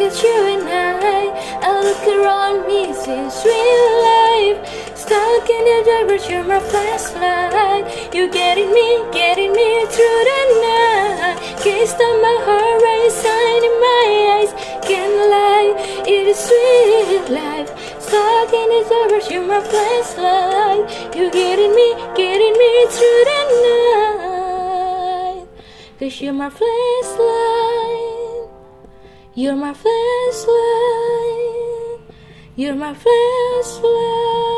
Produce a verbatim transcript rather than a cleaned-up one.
it's you and I. I look around me, it's real life. Stuck in the dark, but you're my flashlight. You getting me, getting me through the night. Can't stop my heart racing in my eyes. Can't lie, it is real life. Stuck in the dark, but you're my flashlight. You getting me, getting me through the night. Cause you're my flashlight. You're my flashlight. You're my flashlight.